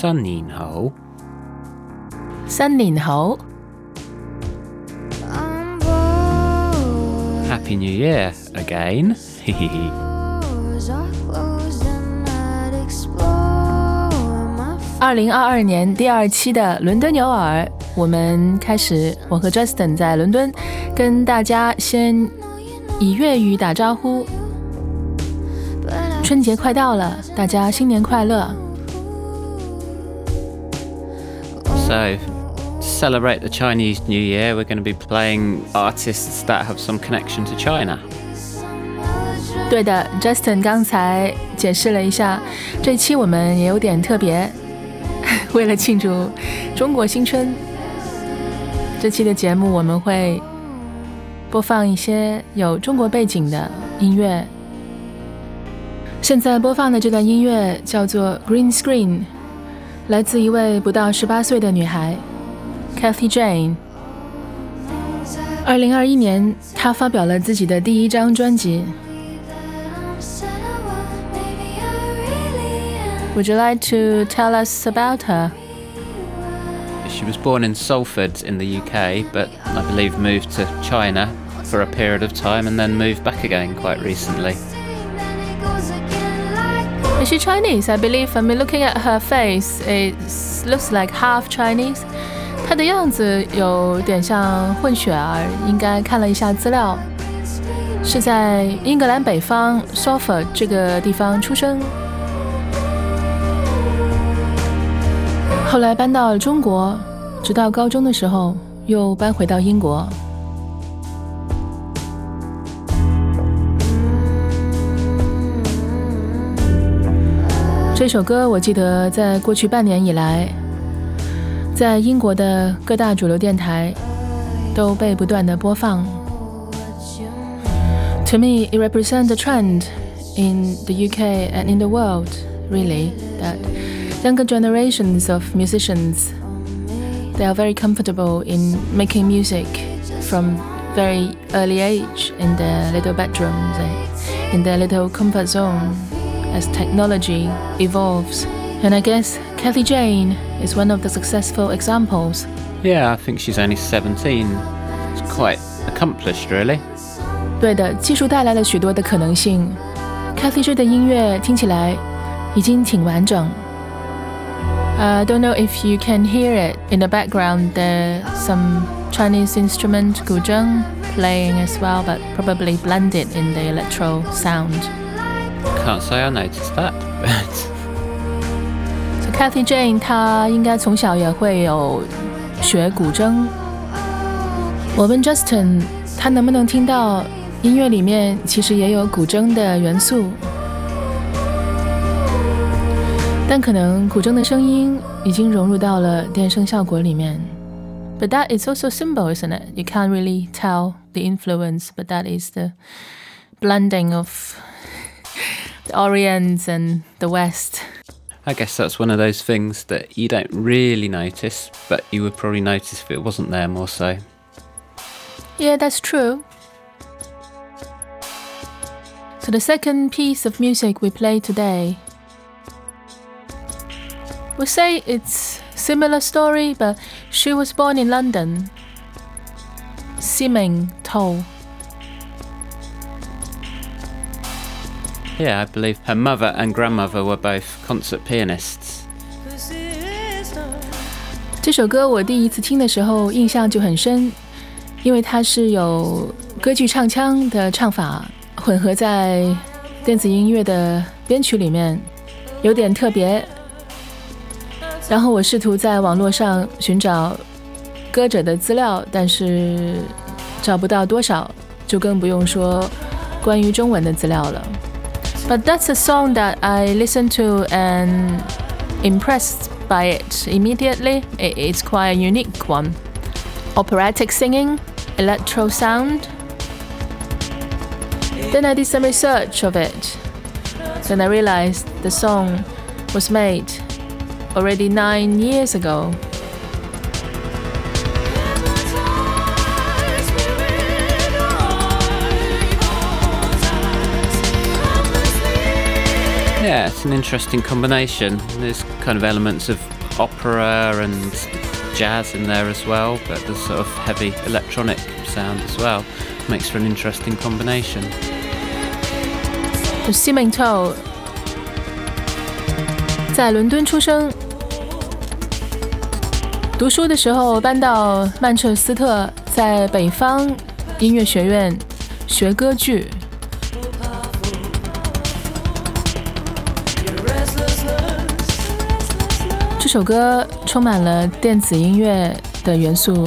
3年後 3年後 Happy New Year again 2022年第2期的伦敦有耳，我们开始，我和 Justin 在伦敦跟大家先以粤语打招呼。春节快到了，大家新年快乐。 So, to celebrate the Chinese New Year, we're going to be playing artists that have some connection to China. 对的 Justin 刚才解释了一下，这期我们也有点特别，为了庆祝中国新春，这期的节目我们会播放一些有中国背景的音乐。现在播放的这段音乐叫做 Green Screen， 来自一位不到18岁的女孩 Kathy Jane。 2021年她发表了自己的第1张专辑。 Would you like to tell us about her? She was born in Salford in the UK, but I believe moved to China for a period of time and then moved back again quite recently. Is she Chinese? I believe. I mean, looking at her face, it looks like half Chinese. 她的样子有点像混血儿，应该看了一下资料，是在英格兰北方 Salford 这个地方出生，后来搬到了中国，直到高中的时候又搬回到英国。这首歌我记得在过去半年以来，在英国的各大主流电台都被不断的播放。To me, it represents a trend in the UK and in the world, really, that younger generations of musicians, they are very comfortable in making music from very early age in their little bedrooms, in their little comfort zone. As technology evolves. And I guess Kathy Jane is one of the successful examples. Yeah, I think she's only 17. It's quite accomplished, really. 对的，技术带来了许多的可能性。Kathy Jane 的音乐听起来已经挺完整。I don't know if you can hear it in the background. There's some Chinese instrument 古筝 playing as well, but probably blended in the electro sound.Can't say I noticed that, but... So Kathy Jane 她应该从小也会有学古筝。我问 Justin 他能不能听到音乐里面其实也有古筝的元素，但可能古筝的声音已经融入到了电声效果里面。But that is also symbol, isn't it? You can't really tell the influence, but that is the blending of the Orient and the West. I guess that's one of those things that you don't really notice, but you would probably notice if it wasn't there more so. Yeah, that's true. So the second piece of music we play today, we'll say it's similar story, but she was born in London. Siming Toll.Yeah, I believe her mother and grandmother were both concert pianists. 这首歌我第一次听的时候印象就很深，因为它是有歌剧唱腔的唱法混合在电子音乐的编曲里面，有点特别。然后我试图在网络上寻找歌者的资料，但是找不到多少，就更不用说关于中文的资料了。But that's a song that I listened to and impressed by it immediately. It's quite a unique one. Operatic singing, electro sound. Then I did some research of it. Then I realized the song was made already 9 years ago. Yeah, it's an interesting combination. There's kind of elements of opera and jazz in there as well, but there's sort of heavy electronic sound as well. Makes for an interesting combination. Simington 在伦敦出生，读书的时候搬到曼彻斯特，在北方音乐学院学歌剧。这首歌充满了电子音乐的元素，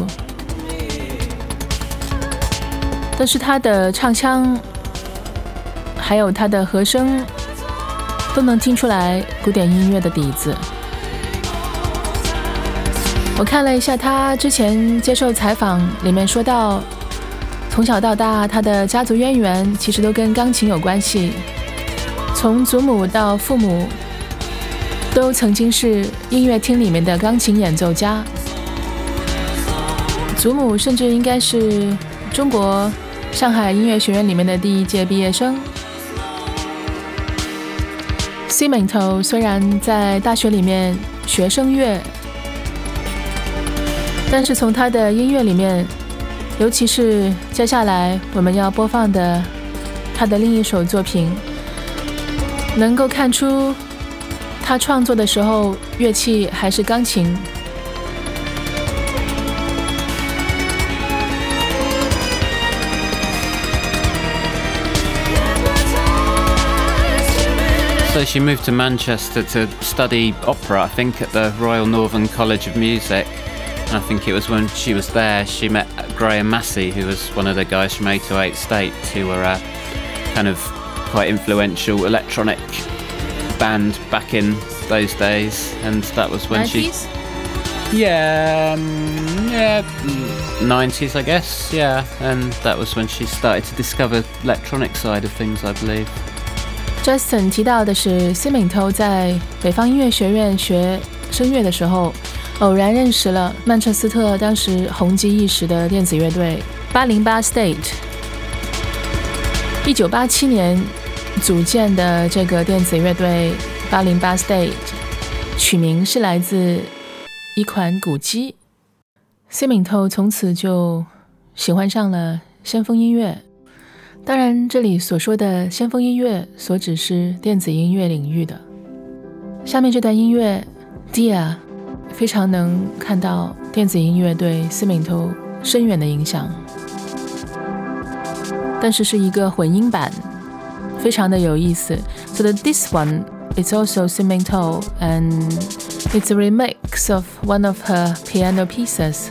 但是它的唱腔还有它的和声都能听出来古典音乐的底子。我看了一下他之前接受采访，里面说到从小到大他的家族渊源其实都跟钢琴有关系，从祖母到父母都曾经是音乐厅里面的钢琴演奏家，祖母甚至应该是中国上海音乐学院里面的第一届毕业生。Simington 虽然在大学里面学声乐，但是从他的音乐里面，尤其是接下来我们要播放的他的另一首作品，能够看出他创作的时候乐器还是钢琴。 So she moved to Manchester to study opera, I think, at the Royal Northern College of Music. And I think it was when she was there she met Graham Massey, who was one of the guys from 808 States, who were a kind of quite influential electronic band back in those days. And that was when 90s? Yeah, 90s, I guess, yeah. And that was when she started to discover electronic side of things, I believe. Justin 提到的是 Simington 在北方音乐学院学声乐的时候，偶然认识了曼彻斯特当时红极一时的电子乐队808 State。1987年组建的这个电子乐队808 State， 取名是来自一款古机。Simington 从此就喜欢上了先锋音乐。当然，这里所说的先锋音乐所指是电子音乐领域的。下面这段音乐 Dia 非常能看到电子音乐对 Simington 深远的影响，但是是一个混音版，非常的有意思。So this one is also Simington and it's a remix of one of her piano pieces.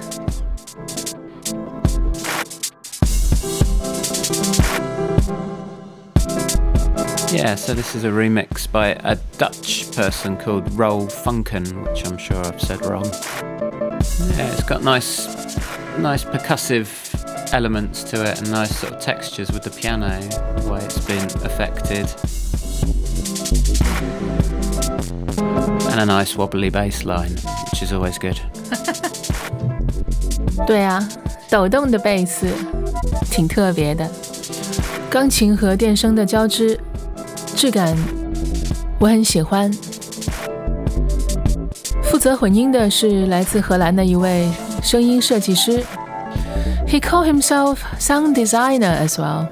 Yeah, so this is a remix by a Dutch person called Roel Funken, which I'm sure I've said wrong. Yeah, it's got nice percussive elements to it and nice sort of textures with the piano, the way it's been affected. And a nice wobbly bass line, which is always good. 对啊，抖动的贝斯挺特别的，钢琴和电声的交织，质感我很喜欢。负责混音的是来自荷兰的一位声音设计师 ，He called himself sound designer as well.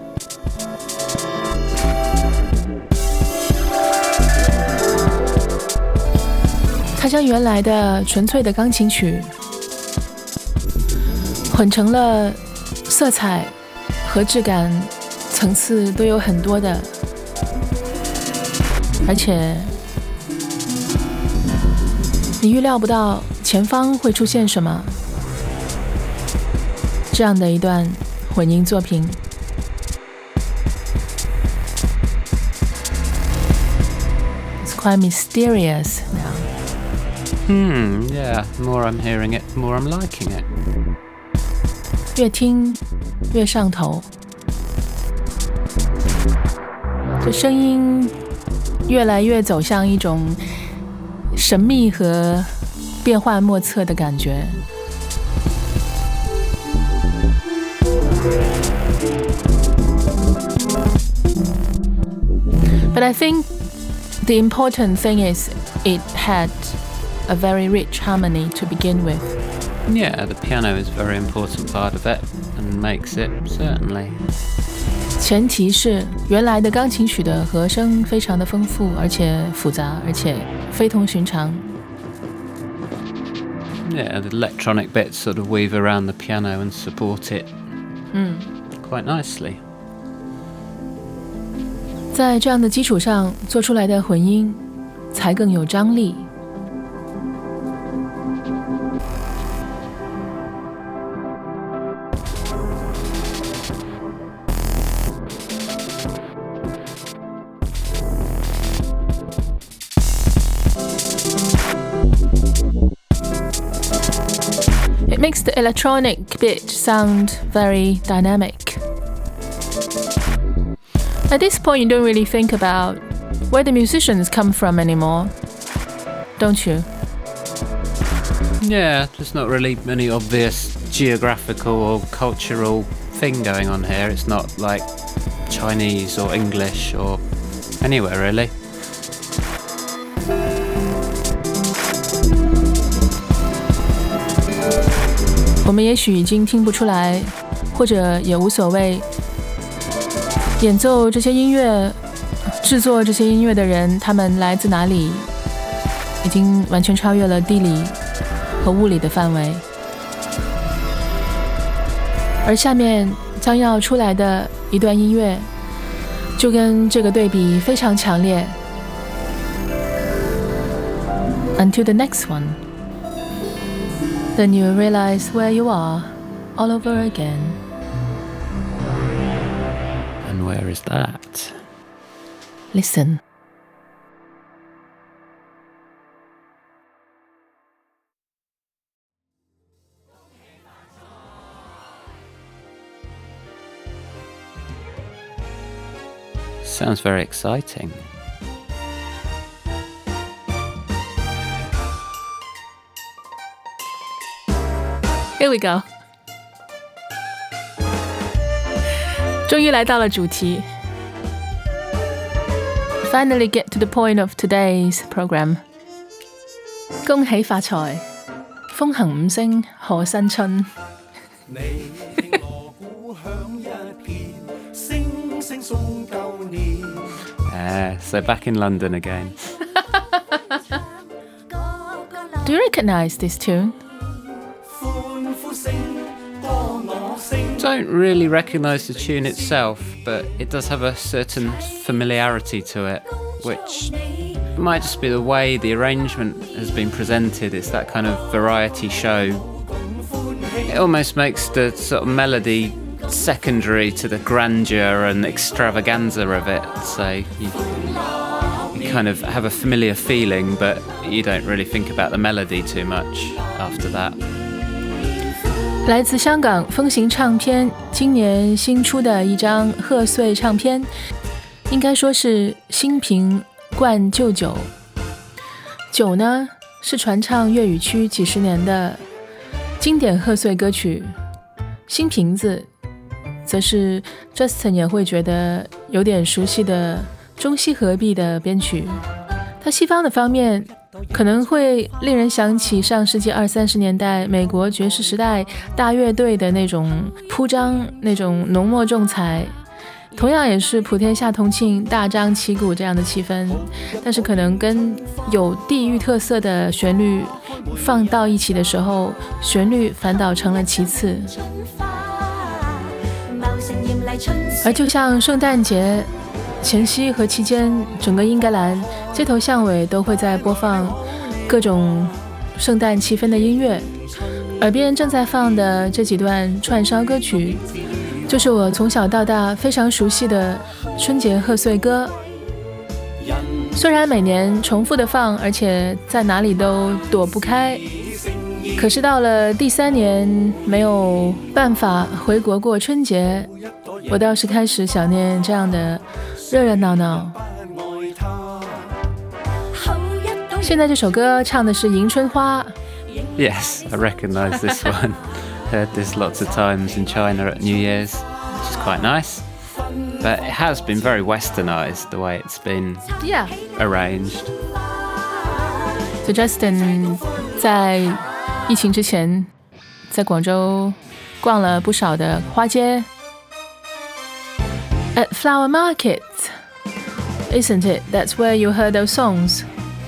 他将原来的纯粹的钢琴曲混成了色彩和质感层次都有很多的，而且你预料不到前方会出现什么，这样的一段混音作品。It's quite mysterious now. Yeah, the more I'm hearing it, the more I'm liking it. 越听越上头，这声音越来越走向一种神秘和变幻莫测的感觉。But I think The important thing is it had a very rich harmony to begin with. Yeah, the piano is a very important part of it and makes it, certainly. 前提是原来的钢琴曲的和声非常的丰富，而且复杂，而且非同寻常。 Yeah, the electronic bits sort of weave around the piano and support it quite nicely. 在这样的基础上做出来的混音才更有张力。It makes the electronic bit sound very dynamic. At this point, you don't really think about where the musicians come from anymore, don't you? Yeah, there's not really any obvious geographical or cultural thing going on here. It's not like Chinese or English or anywhere really. 我们也许已经听不出来，或者也无所谓。演奏这些音乐、制作这些音乐的人，他们来自哪里，已经完全超越了地理和物理的范围。而下面将要出来的一段音乐，就跟这个对比非常强烈。Until the next one, then you realize where you are all over again. And where is that? Listen. Sounds very exciting. Here we go. 终于来到了主题。Finally get to the point of today's program. 恭喜發財，風行五星賀新春。你聽鑼鼓響一片，聲聲送舊年。 So back in London again. Do you recognize this tune? Don't really recognise the tune itself, but it does have a certain familiarity to it, which might just be the way the arrangement has been presented. It's that kind of variety show. It almost makes the sort of melody secondary to the grandeur and extravaganza of it. So you kind of have a familiar feeling, but you don't really think about the melody too much after that. 来自香港风行唱片今年新出的一张贺岁唱片，应该说是新瓶灌旧酒。酒呢，是传唱粤语区几十年的经典贺岁歌曲，新瓶子则是 Justin 也会觉得有点熟悉的中西合璧的编曲。它西方的方面可能会令人想起上世纪20-30年代美国爵士时代大乐队的那种铺张，那种浓墨重彩，同样也是普天下同庆大张旗鼓这样的气氛，但是可能跟有地域特色的旋律放到一起的时候，旋律反倒成了其次。而就像圣诞节前夕和期间，整个英格兰街头巷尾都会在播放各种圣诞气氛的音乐，耳边正在放的这几段串烧歌曲，就是我从小到大非常熟悉的春节贺岁歌。虽然每年重复的放，而且在哪里都躲不开，可是到了第3年没有办法回国过春节，我倒是开始想念这样的热热闹闹。现在这首歌唱的是迎春花。 Yes, I recognise this one. Heard this lots of times in China at New Year's, which is quite nice. But it has been very westernized, the way it's been arranged. So Justin 在疫情之前在广州逛了不少的花街。At Flower Market, isn't it? That's where you heard those songs.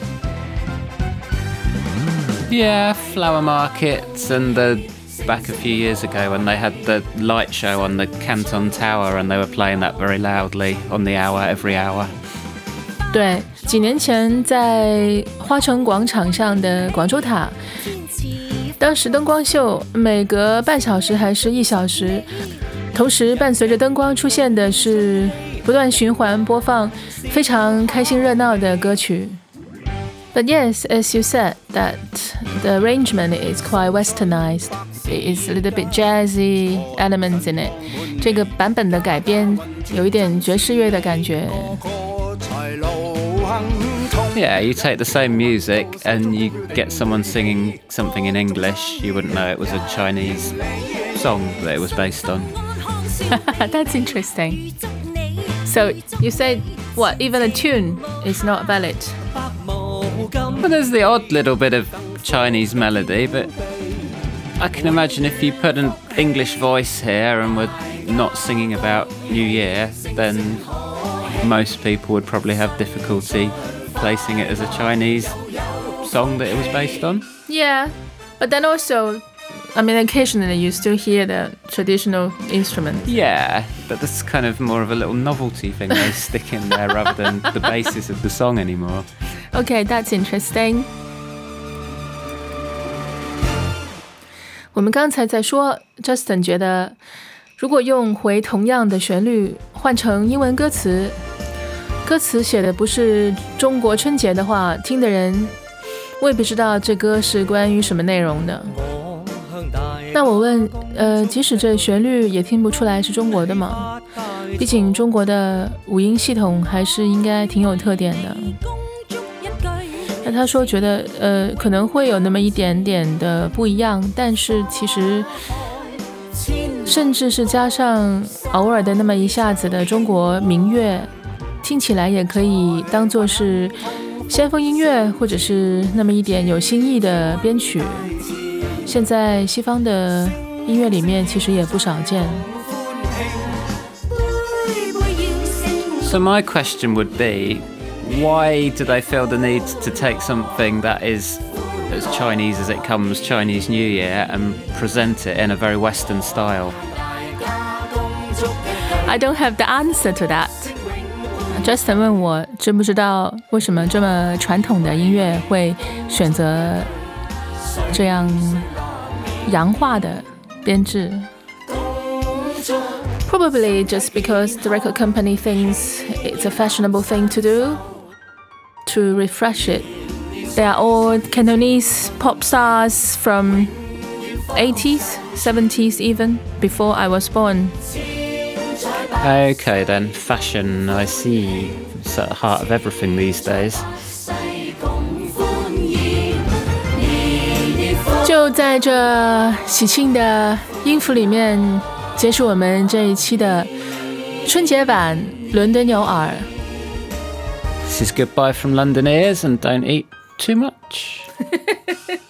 Yeah, flower markets and back a few years ago when they had the light show on the Canton Tower and they were playing that very loudly on the hour, every hour. 对，几年前在花城广场上的广州塔，当时灯光秀每隔半小时还是1小时，同时伴随着灯光出现的是不断循环播放非常开心热闹的歌曲。But yes, as you said, that the arrangement is quite westernized. It is a little bit jazzy elements in it. 这个版本的改编有一点爵士乐的感觉。 Yeah, you take the same music and you get someone singing something in English, you wouldn't know it was a Chinese song that it was based on. That's interesting. So you said, what, even a tune is not valid? Well, there's the odd little bit of Chinese melody, but I can imagine if you put an English voice here and were not singing about New Year, then most people would probably have difficulty placing it as a Chinese song that it was based on. Yeah, but then also, I mean, occasionally you still hear the traditional instrument. Yeah, but that's kind of more of a little novelty thing they stick in there rather than the basis of the song anymore. Okay, that's interesting. 我们刚才在说 Justin 觉得如果用回同样的旋律换成英文歌词，歌词写的不是中国春节的话，听的人未必知道这歌是关于什么内容的。那我问即使这旋律也听不出来是中国的吗？毕竟中国的五音系统还是应该挺有特点的。那他说觉得可能会有那么一点点的不一样，但是其实甚至是加上偶尔的那么一下子的中国民乐，听起来也可以当作是先锋音乐，或者是那么一点有新意的编曲。现在西方的音乐里面其实也不少见。 So my question would be, why do they feel the need to take something that is as Chinese as it comes, Chinese New Year, and present it in a very Western style? I don't have the answer to that. Justin 问我知不知道为什么这么传统的音乐会选择这样洋化的编制。Probably just because the record company thinks it's a fashionable thing to do, to refresh it. They are all Cantonese pop stars from 80s, 70s even, before I was born. Okay then, fashion, I see. It's at the heart of everything these days. 就在这喜庆的音符里面结束我们这一期的春节版伦敦有耳。 This is goodbye from London ears, and don't eat too much.